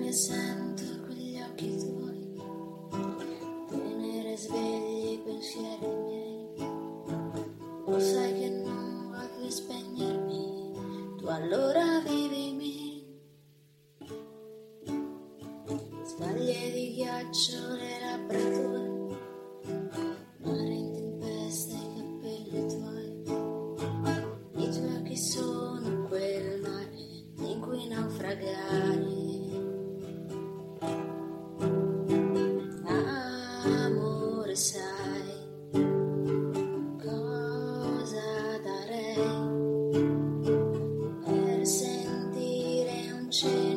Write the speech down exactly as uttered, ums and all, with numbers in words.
che sento quegli occhi tuoi, tenere svegli i pensieri miei. Lo sai che non voglio spegnermi, tu allora vivimi. Scaglie di ghiaccio, le labbra tue, mare in tempesta, i capelli tuoi. I tuoi occhi sono quel mare in cui naufragare. Amore, sai cosa darei per sentire un cielo